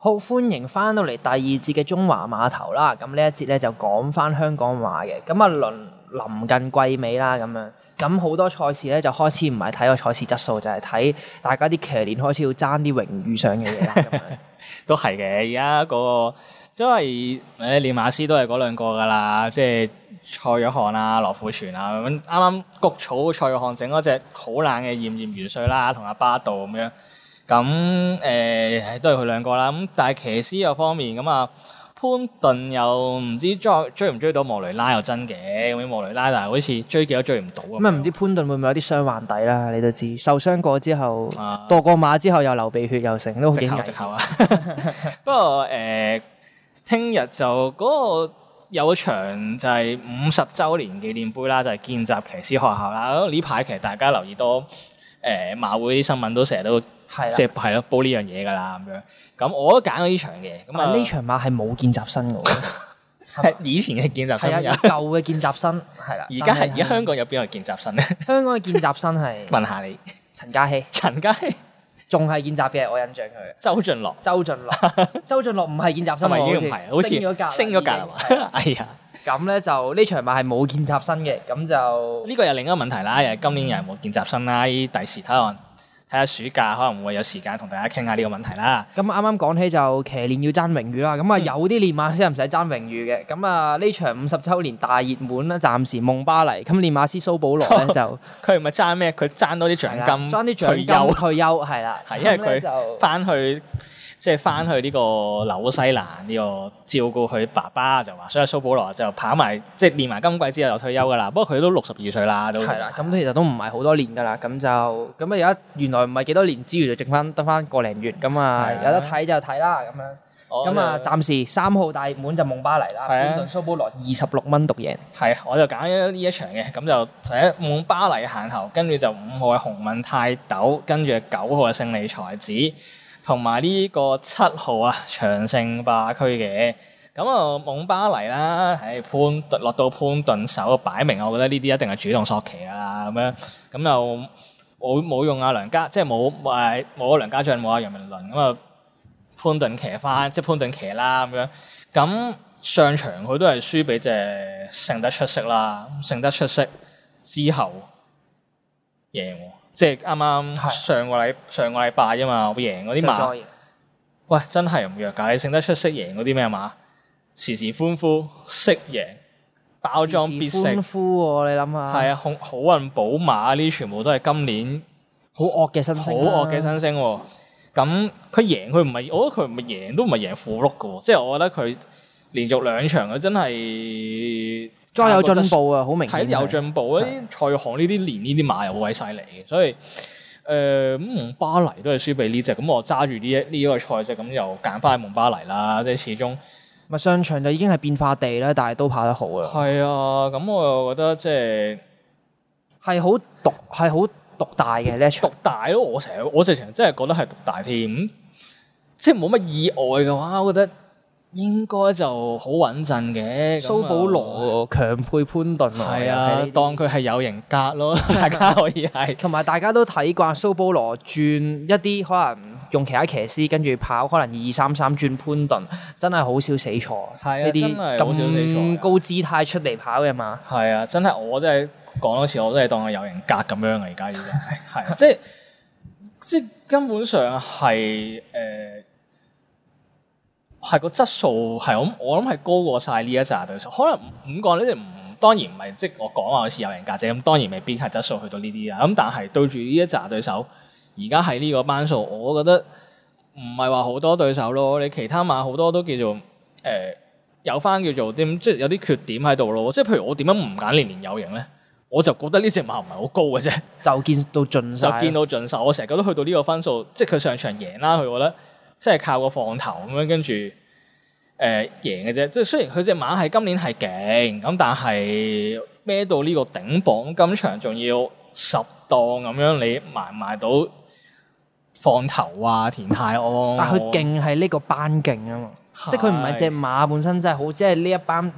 好，歡迎翻到嚟第二節嘅中華碼頭啦。咁呢一節咧就講翻香港話嘅。咁啊臨近季尾啦，咁樣咁好多賽事咧就開始唔係睇個賽事質素，就係睇大家啲騎練開始要爭啲榮譽上嘅嘢啦。咁樣都係嘅，而家嗰個即係練馬師都係嗰兩個噶啦，即係蔡約翰啊、羅富全啊咁。啱啱谷草蔡約翰整嗰隻好冷嘅炎炎元帥啦，同阿巴道咁樣。咁都係佢兩個啦。咁但係騎師嗰方面咁啊，潘頓又唔知追唔追到莫雷拉又真嘅，咁莫雷拉但係好似追幾都追唔到咁。 咁啊唔知潘頓會唔會有啲傷患底啦？你都知受傷過之後，墮過馬之後又流鼻血又成，都好驚藉口啊！不過聽日就嗰個有場就係50週年紀念杯啦，就係見習騎師學校啦。呢排其實大家留意多馬會啲新聞都成日都即係報呢樣嘢㗎啦咁樣。咁我都揀咗呢場嘅。咁啊呢場馬係冇見習生㗎喎，係以前嘅見習生， 係啊舊嘅見習生係啦。 而家香港有邊個見習生咧？香港嘅見習生係問下你陳嘉熙。陳嘉熙仲係見習嘅，我印象佢。周俊樂唔係見習生喎， 已經唔係，好似升咗格啦嘛。哎呀！ 咁咧就呢場馬係冇見習生嘅，咁就呢個又另一個問題啦。又係今年又係冇見習生啦。第時睇下暑假可能會有時間同大家傾下呢個問題啦。 咁啱啱講起就騎練要爭榮譽啦。咁啊有啲練馬師唔使爭榮譽嘅。咁啊呢場50週年大熱門啦，暫時夢巴黎。咁練馬師蘇保羅咧就佢唔係爭咩？佢爭多啲獎金， 爭啲獎金退休係啦。 係因為佢翻去。即係翻去呢個紐西蘭呢個照顧佢爸爸就話，所以蘇保羅就跑埋即係練埋今季之後就退休㗎啦。不過佢都62歲啦，都係啦。咁其實都唔係好多年㗎啦。咁啊而家原來唔係幾多年之餘就剩翻得翻個零月。咁啊有得睇就睇啦咁樣。咁啊暫時3號大熱門就夢巴黎啦。潘頓蘇保羅26蚊獨贏。係，我就揀咗呢一場嘅。咁就第一夢巴黎行頭，跟住就5號嘅紅問泰斗，跟住9號嘅勝利才子。同埋呢個7號啊，長勝霸區嘅。咁啊，夢巴黎啦，落到潘頓手，擺明我覺得呢啲一定係主動索騎啦，咁樣咁又冇用阿梁家，即係冇梁家俊，冇阿楊明倫，咁啊潘頓騎翻，即係潘頓騎啦咁樣。咁上場佢都係輸俾隻勝得出色啦，勝得出色之後贏喎。即係啱啱上個禮拜啫嘛，我贏嗰啲馬，喂真係唔弱㗎！你勝得出色贏嗰啲咩馬？時時歡呼，識贏，包裝必勝。時時歡呼喎，你諗下。係啊，好運寶馬呢啲全部都係今年好惡嘅新星。好惡嘅新星喎。咁佢贏佢唔係，我覺得佢唔係贏都唔係贏符碌㗎喎。即係我覺得佢連續2場佢真係。再有進步啊，好明顯。睇有進步啊！啲蔡約翰呢啲練呢啲馬又好鬼犀利嘅，所以夢巴黎都係輸俾呢隻，咁我揸住呢一個賽隻，咁又揀翻夢巴黎啦。即係始終咪上場就已經係變化地啦，但係都跑得好啊。係啊，咁我又覺得即係好獨大嘅呢一場。獨大咯，我直情真係覺得係獨大添。即係冇乜意外嘅話，我覺得。應該就好穩陣嘅，蘇保羅強配潘頓喎，係啊，當佢係有型格咯，大家可以係。同埋大家都睇慣蘇保羅轉一啲可能用其他騎師跟住跑，可能2-3-3轉潘頓，真係好少死錯。係啊，呢啲咁高姿態出嚟跑嘅嘛。係啊，真係我真係講多次，我真係當佢有型格咁樣啊！而家已經係即係根本上係係個質素係我諗係高過晒呢一紮對手，可能5個呢啲當然唔係即係我講話好似有人價值咁，當然未必係質素去到呢啲啦。咁但係對住呢一紮對手，而家喺呢個班數，我覺得唔係話好多對手咯。你其他馬好多都叫做有翻叫做啲即係有啲缺點喺度咯。即係譬如我點解唔揀年年有型咧？我就覺得呢隻馬唔係好高嘅啫，就見到盡晒。我成日覺得去到呢個分數，即係佢上場贏啦，佢覺得。即係靠個放頭咁樣跟住贏嘅啫。即係雖然佢隻馬係今年係勁咁，但係孭到呢個頂磅，今場仲要10檔咁樣，你埋到放頭啊田泰安。但係佢勁係呢個班勁啊嘛，即係佢唔係隻馬本身真係好，即係呢一班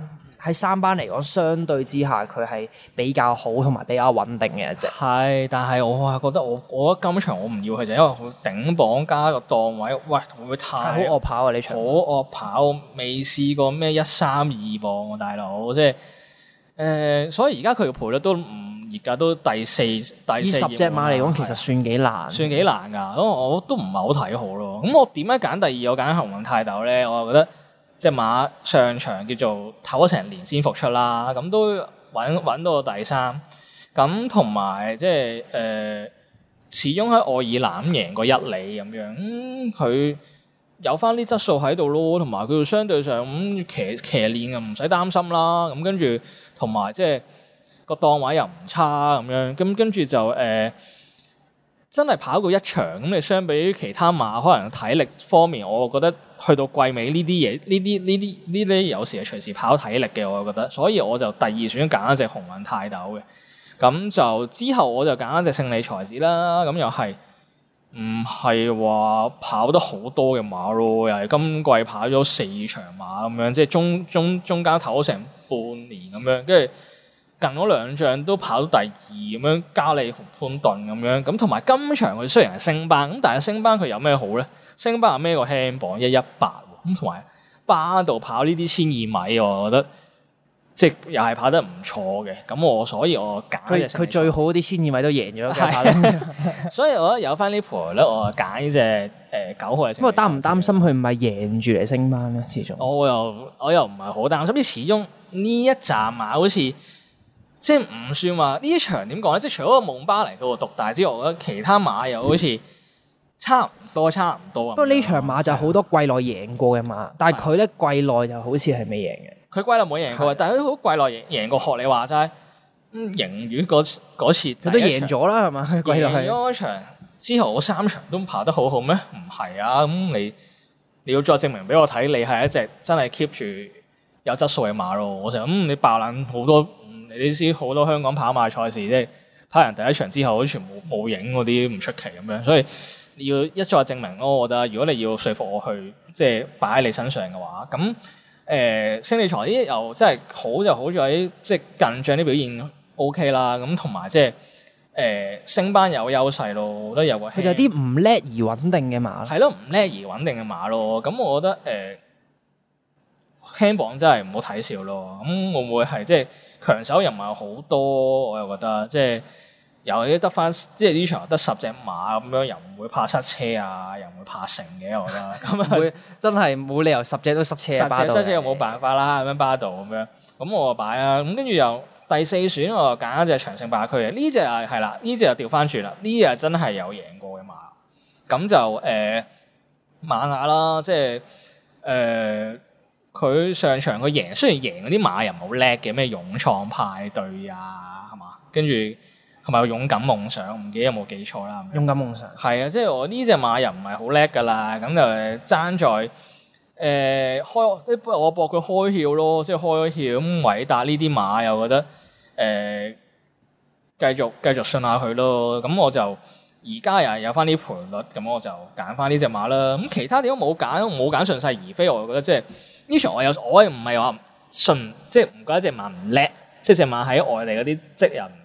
喺三班嚟講，相對之下佢係比較好同埋比較穩定嘅一隻。 係，但係我係覺得我覺得今場我唔要佢就因為佢頂磅加個檔位，喂會唔會太好惡跑啊？呢場好惡跑，未試過咩132磅喎，大佬，即係所以而家佢嘅賠率都唔熱㗎，都第四以 10隻馬嚟講，其實算幾難， 算幾難㗎。咁我都唔係好睇好咯。咁我點解揀第二？我揀鴻運泰斗咧，我覺得隻馬上場叫做唞咗成年先復出啦，咁都揾到個第三。咁同埋即係始終喺愛爾蘭贏過1里咁樣，佢有翻啲質素喺度咯，同埋佢相對上咁騎練啊，唔使擔心啦。咁跟住同埋即係。個檔位又唔差咁樣，咁跟住就真係跑過一場咁。你相比於其他馬，可能體力方面，我覺得去到季尾呢啲嘢，呢啲有時係隨時跑體力嘅，我覺得。所以我就第二選揀一隻鴻運泰斗嘅。咁就之後我就揀一隻勝利才子啦。咁又係唔係話跑得好多嘅馬咯？又係今季跑咗4場馬咁樣，即係中間唞咗成半年咁樣，跟住。近嗰2仗都跑到第2咁樣，加利同潘頓咁樣，咁同埋今場佢雖然係升班，咁但係升班佢有咩好咧？升班係孭個輕磅118，咁同埋巴度跑呢啲1200米，我覺得即係又係跑得唔錯嘅。咁所以我揀佢最好啲1200米都贏咗， 所以我覺得有翻呢盤咧，我揀呢隻9號嘅。 咁我擔唔擔心佢唔係贏住嚟升班咧？始終我又唔係好擔心，始終呢一站馬好似。即係唔算話呢場點講咧，即係除咗個蒙巴黎嗰個獨大之外，我覺得其他馬又好似差唔多。不過呢場馬就好多季內贏過嘅馬，但係佢咧季內就好似係未贏嘅。 佢季內冇贏過，但係佢好季內贏過。學你話齋，贏完嗰次佢都贏咗啦，係嘛？季內贏咗場之後，我3場都跑得好好咩？唔係啊！咁你要再證明俾我睇，你係一隻真係 keep 住有質素嘅馬咯。我就你爆冷好多。你知好多香港跑馬賽事，即係跑完第一場之後，好似冇影嗰啲唔出奇咁樣，所以你要一再證明咯。我覺得如果你要說服我去即係擺喺你身上嘅話，咁勝利財呢又真係好就好在喺即係近仗啲表現 OK 啦。咁同埋即係升班有優勢咯，我覺得有個佢就係啲唔叻而穩定嘅馬， 係咯，唔叻而穩定嘅馬咯。咁我覺得輕磅真係唔好睇笑咯。咁會唔會係即係？強手又唔係好多，我又覺得即係又得翻，即係呢場得10隻馬咁樣，又唔會怕塞車啊，又唔會怕成嘅，我覺得咁會真係冇理由10隻都塞車啊！ 塞車又冇辦法啦，咁樣巴道咁樣，咁我就擺啊，咁跟住又第4選我就揀一隻長勝霸區嘅，呢隻係啦，呢隻就調翻轉啦，呢隻真係有贏過嘅馬，咁就馬雅啦，即係佢上場佢贏，雖然贏嗰啲馬又唔係好叻嘅，咩勇創派對啊，係嘛？跟住係咪勇敢夢想？唔記得有冇記錯啦。 勇敢夢想係啊，即係我呢隻馬又唔係好叻噶啦，咁就爭在我搏佢開竅咯，即係開竅咁偉達呢啲馬又覺得繼續信下佢咯，咁我就而家又係有翻啲賠率，咁我就揀翻呢隻馬啦。咁其他點都冇揀順勢而飛，我就覺得即係。呢場我唔係話信，即係唔覺得隻馬唔叻，即係隻馬喺外地嗰啲職人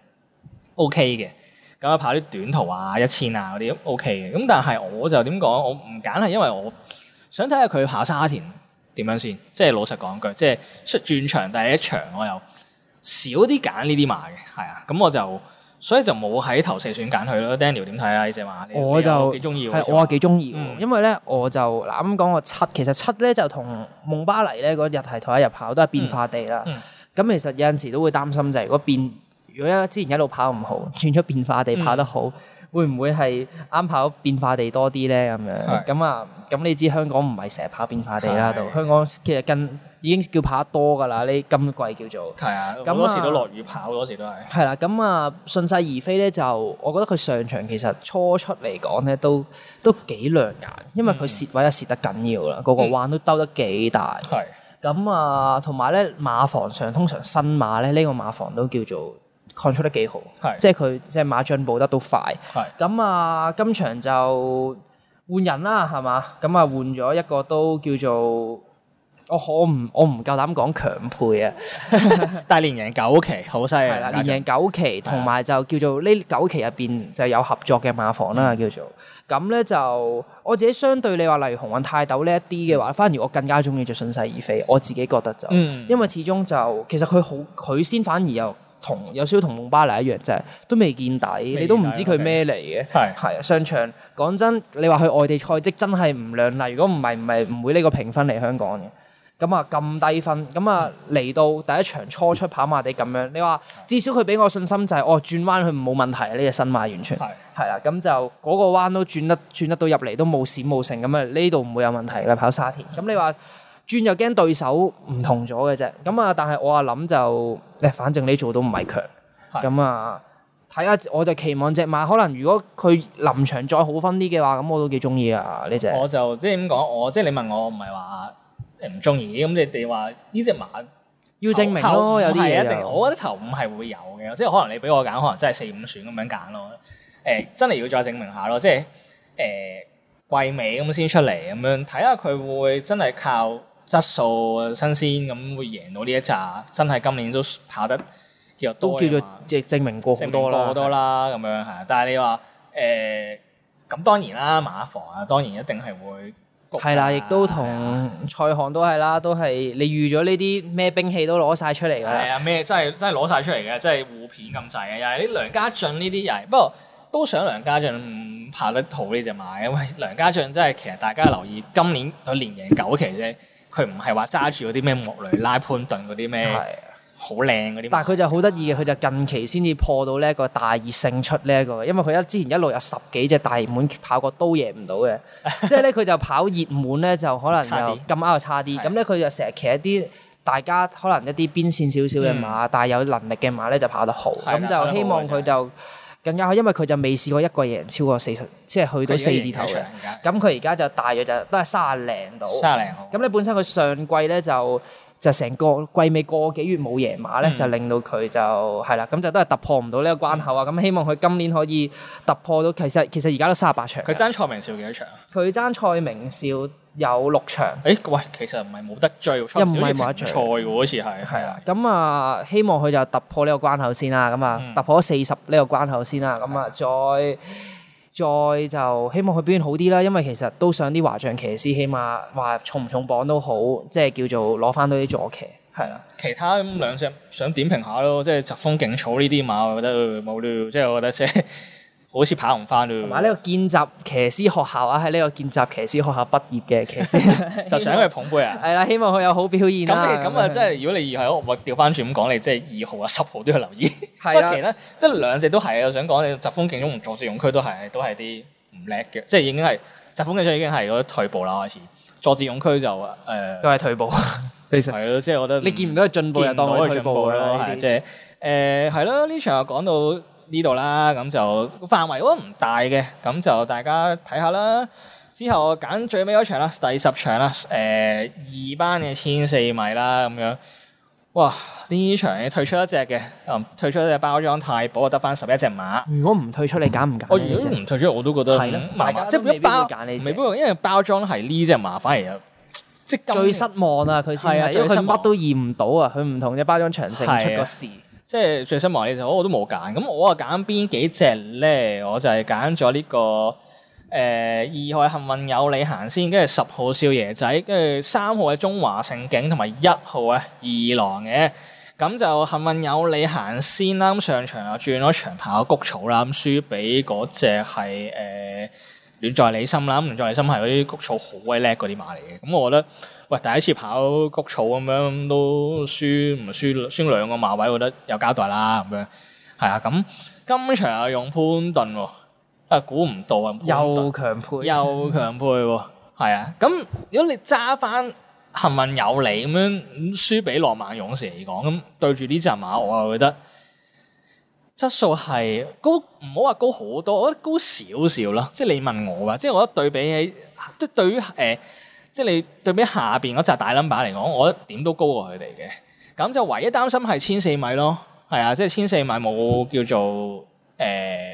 OK 嘅，咁啊跑啲短途啊1000啊嗰啲 OK 嘅，咁但係我就點講？我唔揀係因為我想睇下佢跑沙田點樣先，即係老實講句，即係出轉場第一場我又少啲揀呢啲馬嘅，係啊，咁我就。所以就冇喺頭4選揀佢咯。Daniel 點睇啊？呢隻馬我就幾中意， 係我係幾中意嘅，因為咧我就嗱咁講個7，其實7咧就同蒙巴黎咧嗰日係同一日跑，都係變化地啦。咁其實有陣時都會擔心就係如果之前一路跑唔好，轉咗變化地跑得好，會唔會係啱跑變化地多啲咧？咁樣咁你知香港唔係成日跑變化地啦，度香港其實已經叫跑得多㗎啦，呢今季叫做係啊，好多時都落雨跑，好多時都係。係啦， 咁順勢而飛咧，就我覺得佢上場其實初出嚟講咧都幾亮眼，因為佢蝕位又蝕得緊要啦，個彎都兜得幾大。係。咁同埋咧馬房上通常新馬咧呢個馬房都叫做control得幾好，即係佢即係馬進步得都快。係。咁今場就換人啦，係嘛？咁換咗一個都叫做我唔夠膽講強配啊， 但係連贏9期好犀利。係啦，連贏9期，同埋就叫做呢9期入邊就有合作嘅馬房啦，叫做。咁咧就我自己相對你話例如鴻運泰斗呢一啲嘅話，反而我更加中意就順勢而飛。我自己覺得就，因為始終就其實佢先反而有少少同蒙巴黎一樣，就係都未見底，你都唔知佢咩嚟嘅。係啊，上場講真，你話去外地賽績真係唔亮麗。如果唔係唔會呢個評分嚟香港嘅。咁啊咁低分，咁啊嚟到第一場初出跑馬地咁樣，你話至少佢俾我信心就係轉彎佢冇問題啊！呢隻新馬完全係啦，咁就嗰個彎都轉得到入嚟都冇閃冇剩咁啊，呢度唔會有問題啦，跑沙田。咁你話轉又驚對手唔同咗嘅啫，咁啊但係我諗就反正呢組都唔係強，咁啊睇下我就期望隻馬可能如果佢臨場再好分啲嘅話，咁我都幾中意啊呢隻。 我就即係點講，我即係你問我唔係話。唔中意咁，你哋話呢隻馬要證明咯，有啲嘢一定。我覺得頭5係會有嘅，即係可能你俾我揀，可能真係4、5選咁樣揀咯。真係要再證明下咯，即係季尾咁先出嚟咁樣，睇下佢會唔會真係靠質素新鮮咁會贏到呢一紮，真係今年都跑得叫做多，都叫做即係證明過好多啦咁樣係。但係你話咁當然啦，馬房啊當然一定係會。 係啦，亦都同賽項都係啦，都係你預咗呢啲咩兵器都攞晒出嚟㗎。係啊，咩真係攞晒出嚟嘅，真係互片咁滯嘅。又係啲梁家俊呢啲又係，不過都想梁家俊跑得好呢隻馬，因為梁家俊真係其實大家留意今年佢連贏9期啫，佢唔係話揸住嗰啲咩莫雷拉潘頓嗰啲咩。好靚嗰啲， 但係佢就好得意嘅，佢就近期先至破到呢一個大熱勝出呢一個，因為佢之前一路有10幾隻大熱門跑過都贏唔到嘅，即係咧佢就跑熱門咧就可能又咁啱又差啲，咁咧佢就成日騎一啲大家可能一啲邊線少少嘅馬，但係有能力嘅馬咧就跑得好，咁就希望佢就更加好，因為佢就未試過一個贏超過40，即係去到4字頭嘅，咁佢而家就大約就都係30零度，30零號，咁你本身佢上季咧就成個季尾個幾月冇贏馬咧，就令到佢就係啦，咁就都係突破唔到呢個關口啊！咁希望佢今年可以突破到，其實而家都38場。佢爭蔡明少幾多場？ 佢爭蔡明少有6場。 喂，其實唔係冇得追，又唔係冇得賽喎，好似係。係啊， 咁啊，希望佢就突破呢個關口先啦，咁啊，突破咗40呢個關口先啦，咁啊，再就希望佢表現好啲啦，因為其實都想啲華將騎師起碼話重唔重磅都好，即係叫做攞翻多啲坐騎，係啦。其他咁兩隻想點評下咯，即係疾風勁草呢啲馬，我覺得冇料，即係我覺得即係好似跑唔翻咯。 同埋呢個見習騎師學校啊，喺呢個見習騎師學校畢業嘅騎師， 就想佢捧杯啊。 係啦，希望佢有好表現啦。 咁啊，即係如果你係我調翻轉咁講，你即係2號啊、10號都要留意。 係啦， 其他即係兩隻都係，我想講你疾風勁草同佐治勇區都係啲唔叻嘅，即係已經係疾風勁草已經係嗰啲退步啦開始。佐治勇區就都係退步。 其實係咯，即係我覺得你見唔到佢進步，又當佢退步咯。 係即係係咯，呢場又講到呢度啦，咁就範圍都唔大嘅，咁就大家睇下啦。之後揀最尾嗰場啦，第10場啦，2班嘅1400米啦，咁樣。哇！呢場你退出一隻嘅，退出一隻包裝太保，得翻11隻馬。 如果唔退出，你揀唔揀？ 我如果唔退出，我都覺得係啦， 即係一包未必，因為包裝係呢隻馬，反而有即係最失望啊！佢先係，因為佢乜都驗唔到啊！佢唔同嘅包裝長勝出個事。 即係最失望呢隻，我都冇揀。咁我啊揀邊幾隻咧？我就係揀咗呢個2號幸運有你行先，跟住10號少爺仔，跟住3號嘅中華盛景，同埋1號嘅二郎嘅。咁就幸運有你行先啦。咁上場又轉咗長跑谷草啦，咁輸俾嗰隻係戀在你心啦。咁戀在你心係嗰啲谷草好鬼叻嗰啲馬嚟嘅。咁我覺得，喂，第一次跑谷草咁樣都輸2個馬位，我覺得有交代啦。咁樣係啊。咁今場又用潘頓喎。估唔到啊！ 又強配喎，係啊！咁如果你揸翻幸運有你咁樣輸俾浪漫勇士嚟講，咁對住呢隻馬，我又覺得質素係高，唔好話高好多，我覺得高少少啦。即係你問我啊，即係我覺得對比起，即係對於即係你對比下邊嗰隻大 number 嚟講，我覺得點都高過佢哋嘅。咁就唯一擔心係1400米咯，係啊，即係1400米冇叫做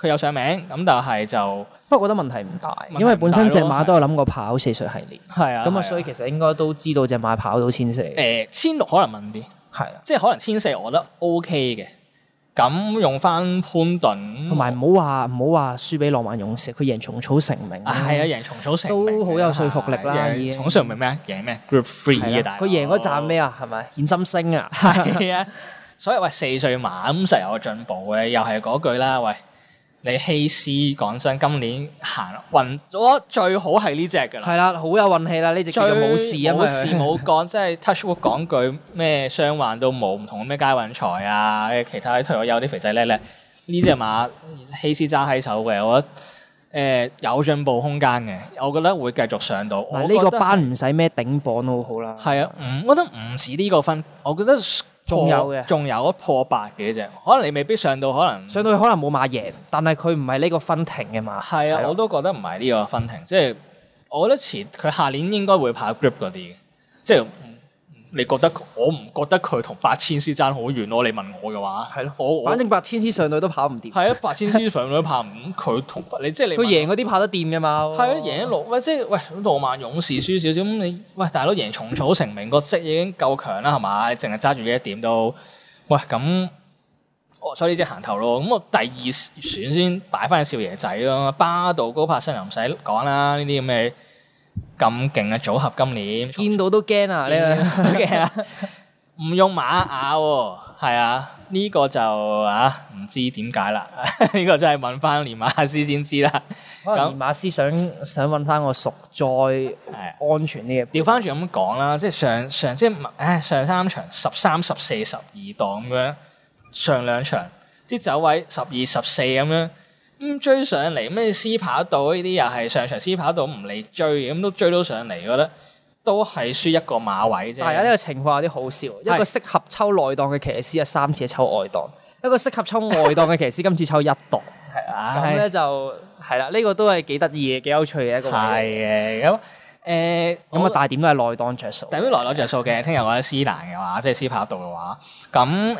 佢有上名，咁但係就不過覺得問題唔大，因為本身隻馬都有諗過跑4歲系列， 係啊， 咁啊所以其實應該都知道隻馬跑到1400。 1600可能問啲， 係啊， 即係可能1400我覺得 OK 嘅。咁用翻潘頓， 同埋唔好話輸俾浪漫勇士，佢贏蟲草成名， 係啊，贏蟲草成名都好有說服力啦。 蟲草成名咩？贏咩 ？Group 3嘅大佬， 佢贏嗰站咩啊？係咪顯心星啊？ 係啊，所以喂4歲馬咁實有進步嘅，又係嗰句啦，喂。你希斯講真，今年行運咗最好係呢隻㗎啦。 係啦，好有運氣啦！呢隻叫做冇事啊， 冇事冇幹，即係 touch wood 講句咩傷患都冇，唔同咩佳運財啊，其他退咗休啲肥仔叻叻，呢隻馬希斯揸喺手嘅，我覺得有進步空間嘅，我覺得會繼續上到。 嗱，呢個班唔使咩頂磅都好啦。 係啊，我覺得唔止呢個分，我覺得。仲有一破8嘅啫，可能你未必上到，可能上到去可能冇馬贏，但係佢唔係呢個分庭嘅馬。 係啊，我都覺得唔係呢個分庭，即係我覺得佢下年應該會跑 group 嗰啲嘅，即係你覺得我唔覺得佢同8000絲爭好遠咯？你問我嘅話，係咯， 反正8000絲上到都跑唔掂。 係啊，8000絲上到都跑唔掂，佢同你即係你。佢贏嗰啲跑得掂嘅嘛。 係啊，贏1-6，喂，即係喂，浪漫勇士輸少少咁，你喂大佬贏蟲草成名個績已經夠強啦，係咪？淨係揸住呢一點都。喂，咁所以呢隻行頭咯，咁我第2選先擺翻少爺仔咯，巴道高柏新又唔使講啦，呢啲咁嘅咁勁嘅組合今年見到都驚啊！呢個驚啊！ 唔用馬雅喎，係啊，呢個就唔知點解啦，呢個真係問翻連馬師先知啦。 可能連馬師想揾翻個熟栽安全啲嘅。 調翻轉咁講啦，即係上即係上3場13、14、12檔咁樣，上2場啲走位12、14咁樣，咁追上嚟咩 C 跑道呢啲又係上場 C 跑道唔嚟追，咁都追到上嚟，覺得都係輸一個馬位啫。 係啊，呢個情況有啲好笑，一個適合抽內檔嘅騎師3次抽外檔，一個適合抽外檔嘅騎師今次抽1檔，係啊，咁咧就。係啦，呢個都係幾得意嘅，幾有趣嘅一個。 係嘅，咁咁啊，大點都係內檔着數。 大點內檔着數嘅，聽日我喺斯蘭嘅話，即係斯跑道嘅話，咁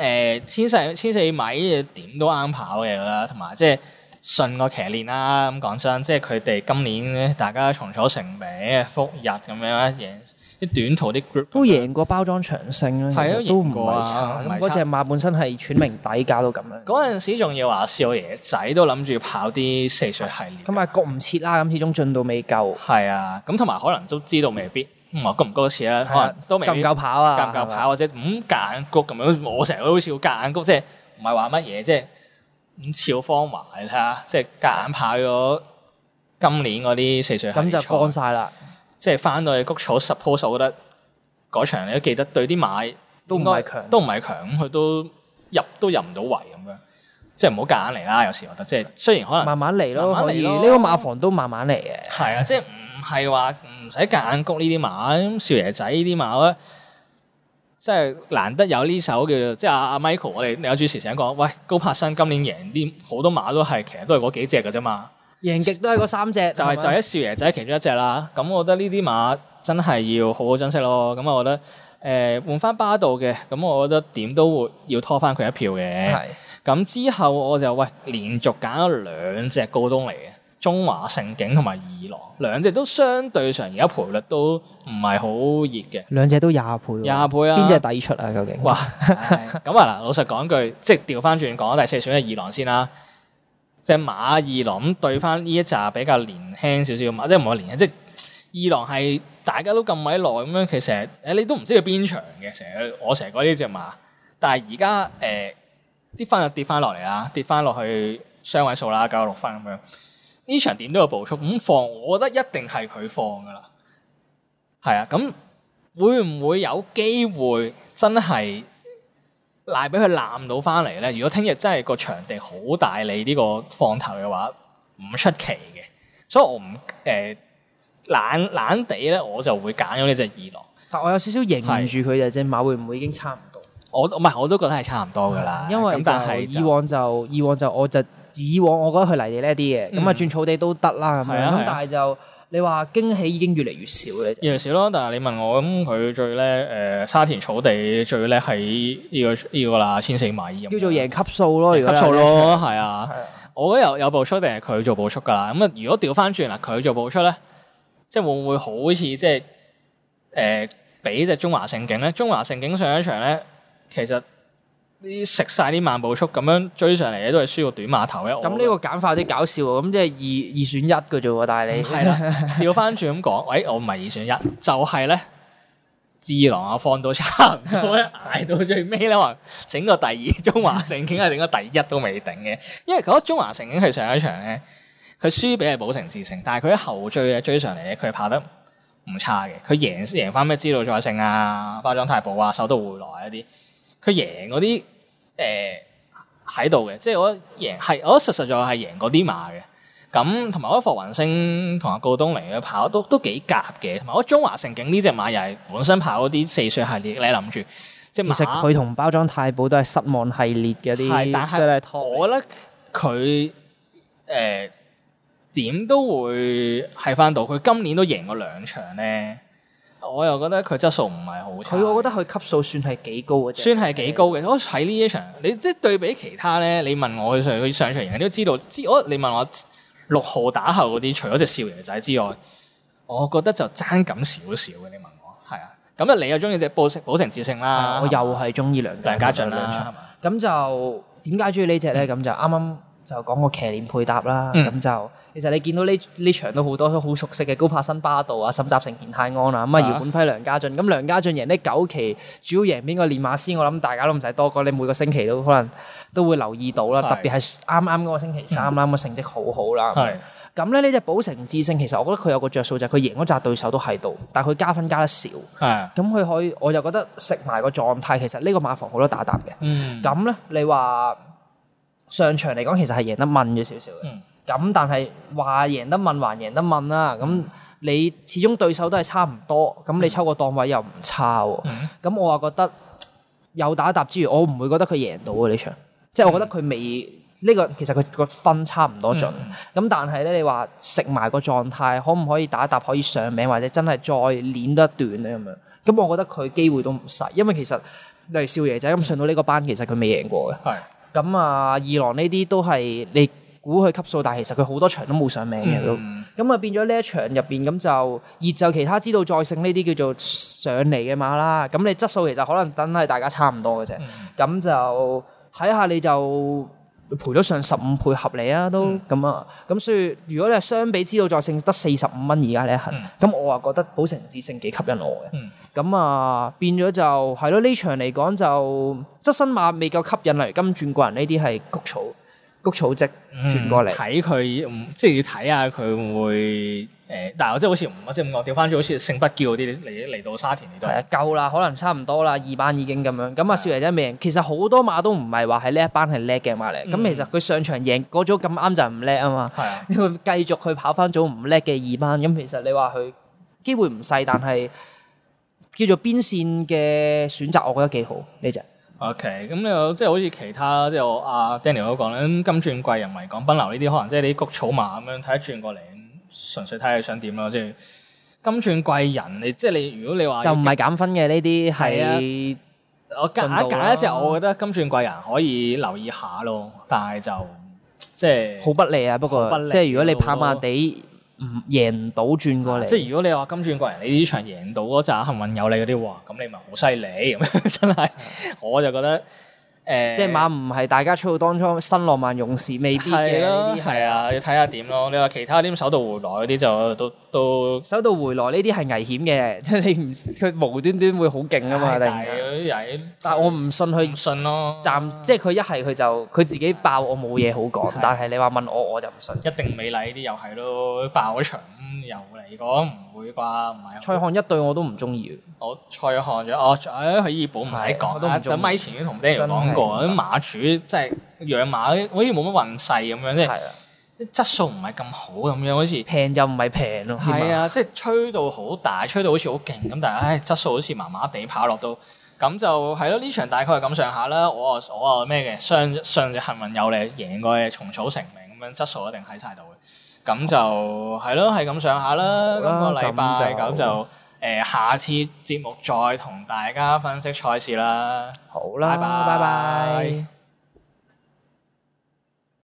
1400米點都啱跑嘅啦，同埋即係順個騎練啦。咁講真，即係佢哋今年咧，大家重組成名復日咁樣贏。啲短途啲 group 都贏過包裝長勝啦，都唔係差。嗰隻馬本身係喘名底價都咁樣。 嗰陣時仲要話少爺仔都諗住跑啲4歲系列。 咁啊，焗唔切啦，咁始終進度未夠。 係啊，咁同埋可能都知道未必，焗唔焗得切啦，可能都未必。 夠唔夠跑啊？ 夠唔夠跑或者夾硬谷咁樣？我成日都好似夾硬谷，即係唔係話乜嘢，即係咁超方華你睇下，即係夾硬跑咗今年嗰啲4歲系列。咁就乾晒啦。 即係翻到去谷草 suppose， 我覺得嗰場你都記得對啲馬都唔係強， 咁佢都入唔到圍咁樣，即係唔好夾硬嚟啦。有時我覺得即係雖然可能慢慢嚟咯，可以呢個馬房都慢慢嚟嘅。 係啊，即係唔係話唔使夾硬谷呢啲馬，咁少爺仔呢啲馬咧，即係難得有呢手叫做即係阿 Michael，我哋有主持成日講，喂，高柏新今年贏啲好多馬都係其實都係嗰幾隻嘅啫嘛。 贏極都係嗰3隻， 就係少爺仔其中一隻啦。咁我覺得呢啲馬真係要好好珍惜咯。咁我覺得換翻巴道嘅，咁我覺得點都會要拖翻佢一票嘅。咁之後我就連續揀咗2隻高東嚟嘅，中華盛景同埋二郎，兩隻都相對上而家賠率都唔係好熱嘅。 兩隻都20倍喎。 20倍啊！ 邊隻抵出啊？究竟？ 哇！咁啊嗱，老實講句，即係調翻轉講第4選嘅二郎先啦。隻馬二郎咁對翻呢一紮比較年輕少少嘅馬，即係唔係年輕，即係二郎係大家都咁鬼耐咁樣，其實你都唔知佢邊場嘅，我成日講呢隻馬，但係而家啲分就跌翻落嚟啦，跌翻落去雙位數啦，96分咁樣。呢場點都有步速咁放，我覺得一定係佢放噶啦。係啊，咁會唔會有機會真係？賴俾佢攬到翻嚟咧，如果聽日真係個場地好大你呢個放頭嘅話，唔出奇嘅。所以我唔懶地咧，我就會揀咗呢隻二郎。但我有少少認住佢隻馬會唔會已經差唔多？我都覺得係差唔多噶啦。因為但係以往我覺得佢泥地叻啲嘅，咁轉草地都得啦咁樣。咁但係就。你話驚喜已經越嚟越少咧， 越嚟越少咯。但係你問我咁，佢最叻沙田草地最叻係呢個啦，1400米咁。 叫做贏級數咯， 級數咯，係啊。 我覺得有步速定係佢做步速㗎啦。咁啊，如果調翻轉啦，佢做步速咧，即係會唔會好似即係比隻中華盛景咧？中華盛景上一場咧，其實啲食晒啲慢步速咁樣追上嚟嘅都係輸個短碼頭咧。 咁呢個簡化有啲搞笑喎，咁即係二選一嘅啫喎，但係你係啦，調翻轉咁講，喂，我唔係二選一，就係咧。智囊啊，放到差唔多咧，捱到最尾咧，話整個第二中華盛景係整個第一都未定嘅，因為覺得中華盛景佢上一場咧，佢輸俾係寶城智勝，但係佢喺後追上嚟咧，佢係跑得唔差嘅，佢贏翻咩知道再勝啊、包裝太保啊、首都回來一啲，佢贏嗰啲喺度嘅，即係我覺得實在係贏嗰啲馬嘅。咁同埋我覺得霍雲星同阿告東尼嘅跑都幾夾嘅，同埋我覺得中華盛景呢隻馬又係本身跑嗰啲4歲系列，你諗住即係其實佢同包裝太保都係失望系列嘅啲， 但係我覺得佢點都會係翻到，佢今年都贏過2場咧，我又覺得佢質素唔係好差。 我覺得佢級數算係幾高嘅啫， 算係幾高嘅。我睇呢一場，你即係對比其他咧，你問我佢上場贏，你都知道。你問我6號打後嗰啲，除咗隻少爺仔之外，我覺得就爭咁少少嘅。你問我係啊，咁你又中意隻寶城智勝啦， 我又係中意梁家俊啦。咁就點解中意呢隻咧？咁就啱啱就講個騎練配搭啦。咁就其實你見到呢場都好多都好熟悉嘅高柏新巴道啊、沈集成健泰安啊，咁啊姚本輝梁家俊。咁梁家俊贏呢9期，主要贏邊個練馬師？我諗大家都唔使多講，你每個星期都可能都會留意到啦。特別係啱啱嗰個星期3啦，咁啊成績好好啦。咁咧呢隻寶城智勝，其實我覺得佢有個着數就係佢贏嗰紮對手都喺度，但係佢加分加得少。咁佢可以，我就覺得食埋個狀態，其實呢個馬房好多打搭嘅。咁咧你話上場嚟講，其實係贏得問咗少少嘅。咁但係話贏得問還贏得問啦。咁你始終對手都係差唔多，咁你抽個檔位又唔差喎。咁我話覺得有打搭之餘，我唔會覺得佢贏到嘅呢場。即係我覺得佢未。呢個其實佢個分差唔多盡，咁但係咧，你話食埋個狀態，可唔可以打一搭可以上名，或者真係再練得一段咧咁樣？咁我覺得佢機會都唔細，因為其實例如少爺仔咁上到呢個班，其實佢未贏過嘅。咁啊，二郎呢啲都係你估佢級數，但係其實佢好多場都冇上名嘅都。咁啊變咗呢一場入邊咁就熱就其他知道再勝呢啲叫做上嚟嘅馬啦。咁你質素其實可能真係大家差唔多嘅啫。咁就睇下你就。賠咗上15倍合理啊，都咁啊，咁所以如果你係相比知道再勝得45蚊而家呢一刻，咁我啊覺得寶城智勝幾吸引我嘅，咁啊變咗就係咯，呢場嚟講就側身馬未夠吸引，例如金鑽貴人呢啲係谷草積轉過嚟， 睇佢即係要睇下佢會唔會但係我即係好似唔即係咁講，調翻轉好似勝不驕嗰啲嚟到沙田嚟到係啊夠啦，可能差唔多啦，2班已經咁樣。咁啊少爺仔未贏，其實好多馬都唔係話喺呢一班係叻嘅馬嚟。咁其實佢上場贏嗰組咁啱就唔叻啊嘛。係啊，因為繼續去跑翻組唔叻嘅2班，咁其實你話佢機會唔細，但係叫做邊線嘅選擇，我覺得幾好呢隻。 OK，咁你即係好似其他即係我阿 Daniel 都講啦，金鑽貴人、維港奔流呢啲，可能即係啲谷草馬咁樣睇得轉過嚟。純粹睇下你想點咯，即係金鑽貴人，即係你如果你話就唔係減分嘅呢啲係我揀一隻，我覺得金鑽貴人可以留意下咯，但係就即係好不利啊。不過即係如果你跑馬地唔贏唔到轉過嚟， 即係如果你話金鑽貴人你呢場贏到嗰紮幸運有你嗰啲，哇咁你咪好犀利咁真係，我就覺得。 即係馬唔係大家出到當初新浪漫勇士未必嘅呢啲係啊，要睇下點咯。你話其他啲手到回來嗰啲就都手到回來呢啲係危險嘅，即係你唔佢無端端會好勁啊嘛。但係我唔信佢， 唔信咯。 即係佢一係佢就佢自己爆，我冇嘢好講。但係你話問我就唔信。 一定美麗呢啲又係咯，爆咗場又嚟講唔會啩？唔係。 蔡漢一對我都唔中意。 我蔡漢咗，喺醫保唔使講啦。就咪前已經同 Daniel 講過，啲馬主即係養馬好似冇乜運勢咁樣，即係啲質素唔係咁好咁樣，好似平就唔係平咯。 係啊，即係吹到好大，吹到好似好勁咁，但係質素好似麻麻地，跑落到咁就係咯。呢場大概係咁上下啦。我啊咩嘅，上隻幸運有你贏過嘅蟲草成名咁樣，質素一定喺晒度嘅。咁就係咯，係咁上下啦。今個禮拜咁就下次節目再同大家分析賽事啦。 好啦，拜拜。